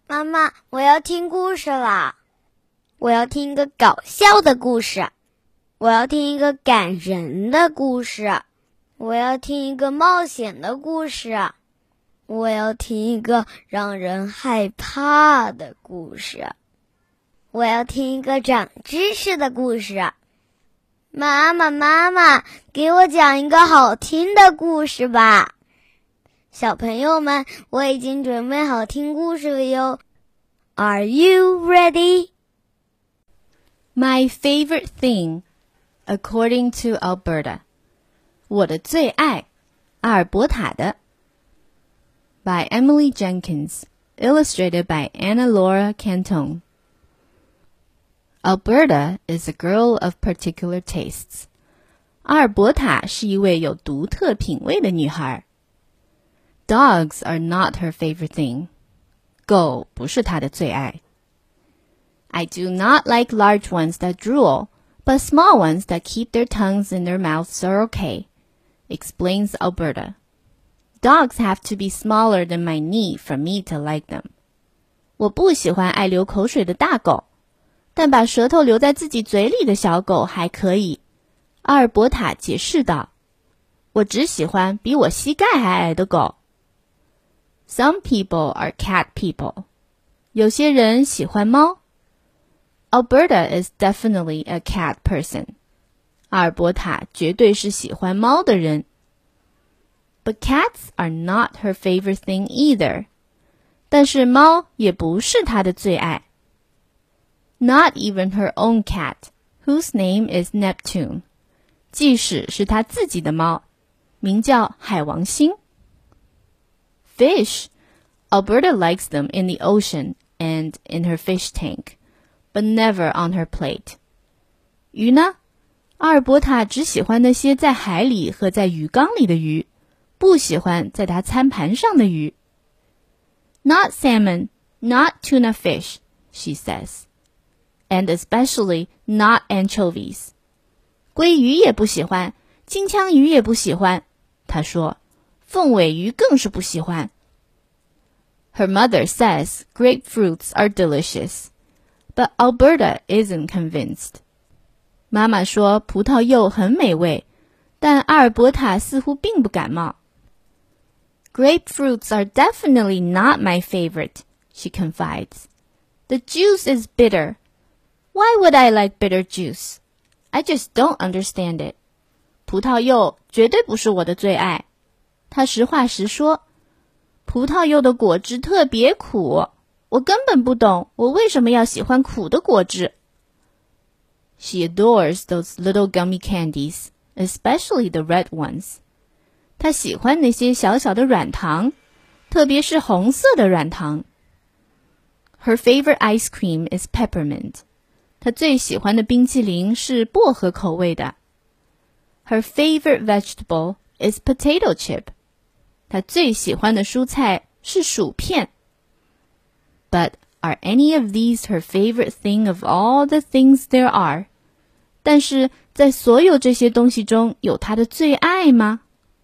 妈妈，我要听故事啦！我要听一个搞笑的故事，我要听一个感人的故事，我要听一个冒险的故事，我要听一个让人害怕的故事，我要听一个长知识的故事。妈妈，给我讲一个好听的故事吧。小朋友们，我已经准备好听故事了哟。Are you ready? My favorite thing, according to Alberta. 我的最爱，阿尔伯塔的。By Emily Jenkins, illustrated by Anna Laura Cantone. Alberta is a girl of particular tastes. 阿尔伯塔是一位有独特品味的女孩。Dogs are not her favorite thing. 狗不是她的最爱。I do not like large ones that drool, but small ones that keep their tongues in their mouths are okay, explains Alberta. Dogs have to be smaller than my knee for me to like them. 我不喜欢爱流口水的大狗，但把舌头留在自己嘴里的小狗还可以。阿尔伯塔解释道，我只喜欢比我膝盖还矮的狗。Some people are cat people. 有些人喜欢猫。Alberta is definitely a cat person. 阿尔伯塔绝对是喜欢猫的人。But cats are not her favorite thing either. 但是猫也不是她的最爱。Not even her own cat, whose name is Neptune. 即使是她自己的猫，名叫海王星。Fish. Alberta likes them in the ocean and in her fish tank, but never on her plate. 鱼呢？阿尔伯塔只喜欢那些在海里和在鱼缸里的鱼，不喜欢在她餐盘上的鱼。Not salmon, not tuna fish, she says, and especially not anchovies. 鲑鱼也不喜欢，金枪鱼也不喜欢，她说，凤尾鱼更是不喜欢。Her mother says grapefruits are delicious, but Alberta isn't convinced. 妈妈说葡萄柚很美味，但阿尔伯塔似乎并不感冒。Grapefruits are definitely not my favorite, she confides. The juice is bitter. Why would I like bitter juice? I just don't understand it. 葡萄柚绝对不是我的最爱。她实话实说，葡萄柚的果汁特别苦，我根本不懂我为什么要喜欢苦的果汁。She adores those little gummy candies, especially the red ones. 她喜欢那些小小的软糖，特别是红色的软糖。Her favorite ice cream is peppermint. 她最喜欢的冰淇淋是薄荷口味的。Her favorite vegetable is potato chip. 她最喜欢的蔬菜是薯片。But are any of these her favorite thing of all the things there are? 但是在所有这些东西中，有她的最爱吗？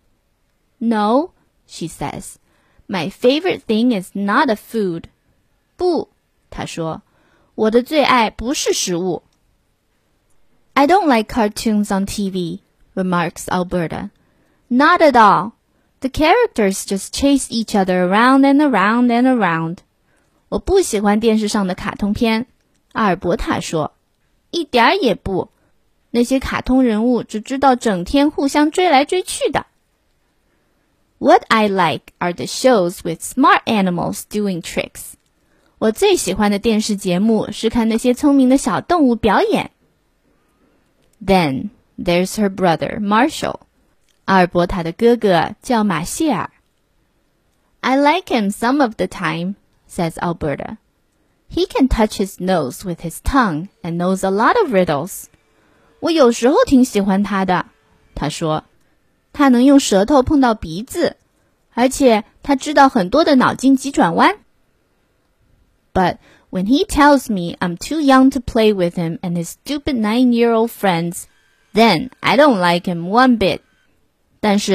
No, she says. My favorite thing is not a food. 不，她说，我的最爱不是食物。I don't like cartoons on TV, remarks Alberta. Not at all.The characters just chase each other around and around and around. 我不喜欢电视上的卡通片，阿尔伯塔说，一点儿也不。那些卡通人物只知道整天互相追来追去的。What I like are the shows with smart animals doing tricks. 我最喜欢的电视节目是看那些聪明的小动物表演。Then there's her brother, Marshall.阿尔伯塔的哥哥叫马歇尔。I like him some of the time, says Alberta. He can touch his nose with his tongue and knows a lot of riddles. 我有时候挺喜欢他的，他说，他能用舌头碰到鼻子，而且他知道很多的脑筋急转弯。But when he tells me I'm too young to play with him and his stupid 9-year-old friends, then I don't like him one bit.但是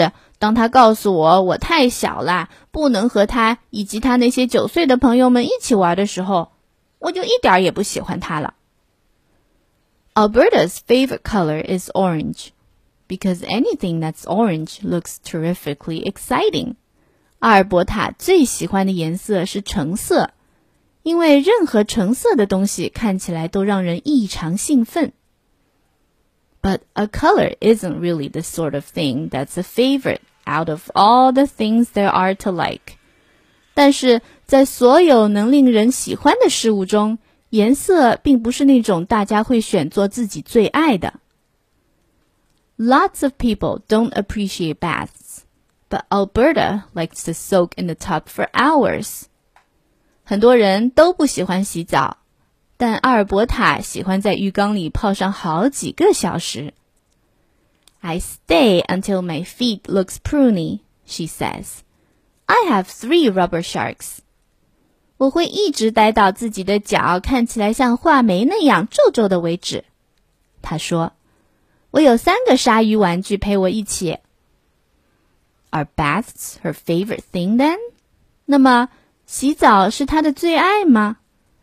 当他告诉我太小啦，不能和他以及他那些9岁的朋友们一起玩的时候，我就一点也不喜欢他了。Alberta's favorite color is orange, because anything that's orange looks terrifically exciting. 阿尔伯塔最喜欢的颜色是橙色，因为任何橙色的东西看起来都让人异常兴奋。But a color isn't really the sort of thing that's a favorite out of all the things there are to like. 但是在所有能令人喜欢的事物中，颜色并不是那种大家会选做自己最爱的。Lots of people don't appreciate baths, but Alberta likes to soak in the tub for hours. 很多人都不喜欢洗澡，但阿尔伯塔喜欢在浴缸里泡上好几个小时。I stay until my feet looks pruny, she says. I have 3 rubber sharks. 我会一直待到自己的脚看起来像画眉那样皱皱的为止。她说，我有3个鲨鱼玩具陪我一起。Are baths her favorite thing then? 那么洗澡是她的最爱吗？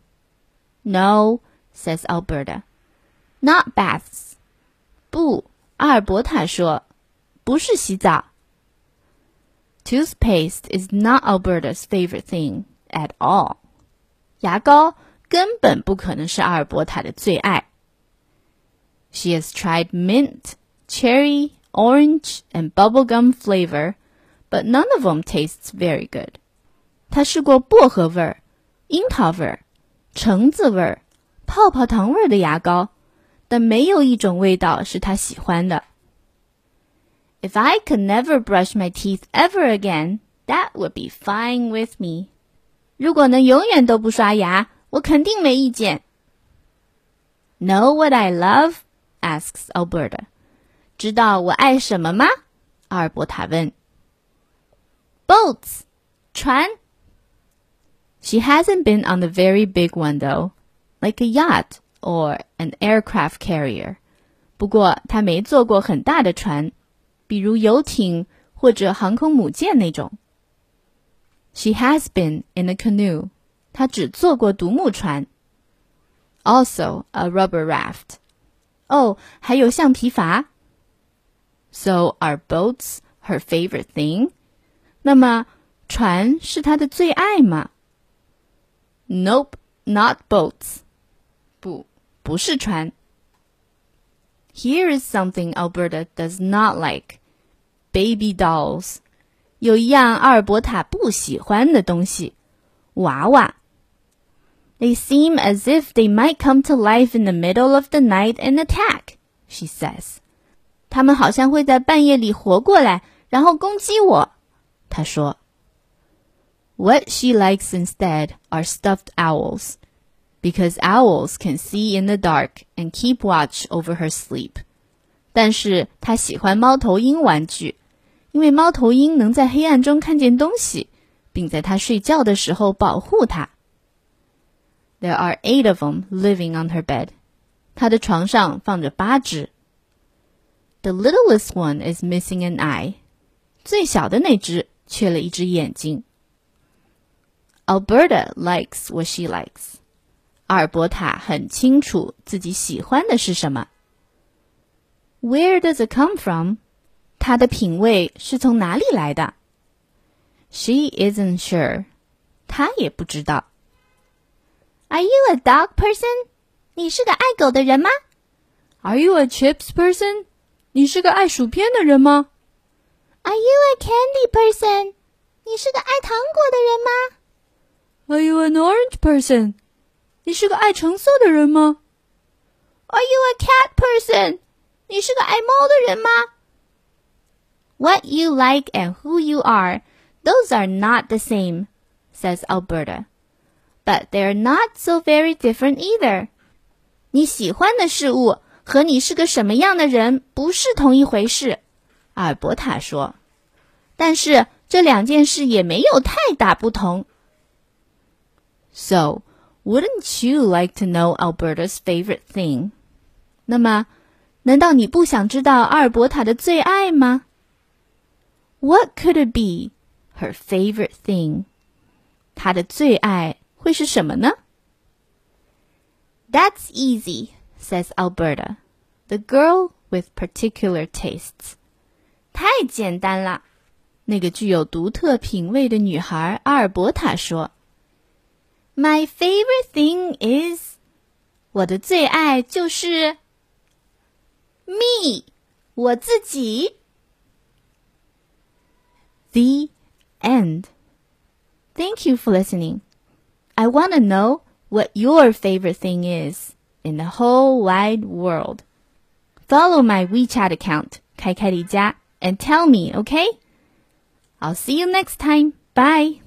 No, says Alberta. Not baths. 不，阿尔伯塔说，不是洗澡。Toothpaste is not Alberta's favorite thing at all. 牙膏根本不可能是阿尔伯塔的最爱。She has tried mint, cherry, orange, and bubblegum flavor, but none of them tastes very good. 她试过薄荷味儿、樱桃味儿、橙子味儿、泡泡糖味儿的牙膏，但没有一种味道是她喜欢的。If I could never brush my teeth ever again, that would be fine with me. 如果能永远都不刷牙，我肯定没意见。Know what I love? Asks Alberta. 知道我爱什么吗？阿尔伯塔问。Boats, 船。She hasn't been on the very big one though, like a yacht or an aircraft carrier. 不过她没坐过很大的船，比如游艇或者航空母舰那种。She has been in a canoe. 她只坐过独木船。Also a rubber raft. 哦，还有橡皮筏。So are boats her favorite thing? 那么船是她的最爱吗？ Nope, not boats. 不是船。Here is something Alberta does not like. Baby dolls. 有一样阿尔伯塔不喜欢的东西，娃娃。They seem as if they might come to life in the middle of the night and attack, she says. 他们好像会在半夜里活过来，然后攻击我。她说。What she likes instead are stuffed owls, because owls can see in the dark and keep watch over her sleep. 但是她喜欢猫头鹰玩具，因为猫头鹰能在黑暗中看见东西，并在她睡觉的时候保护她。There are 8 of them living on her bed. 她的床上放着8只。The littlest one is missing an eye. 最小的那只缺了一只眼睛。Alberta likes what she likes. 阿尔伯塔很清楚自己喜欢的是什么。Where does it come from? 她的品味是从哪里来的？ She isn't sure. 她也不知道。Are you a dog person? 你是个爱狗的人吗？ Are you a chips person? 你是个爱薯片的人吗？ Are you a candy person? 你是个爱糖果的人吗？ Are you an orange person? 你是个爱橙色的人吗？ Are you a cat person? 你是个爱猫的人吗？ What you like and who you are, those are not the same, says Alberta. But they're not so very different either. 你喜欢的事物和你是个什么样的人不是同一回事，阿尔伯塔说。但是这2件事也没有太大不同。So, wouldn't you like to know Alberta's favorite thing? 那么，难道你不想知道阿尔伯塔的最爱吗 What could it be? Her favorite thing. 她的最爱会是什么呢？ That's easy, says Alberta, the girl with particular tastes. 太简单了，那个具有独特品味的女孩阿尔伯塔说。My favorite thing is 我的最爱就是 me 我自己。The end. Thank you for listening. I want to know what your favorite thing is in the whole wide world. Follow my WeChat account, 开开离家, and tell me, okay? I'll see you next time. Bye.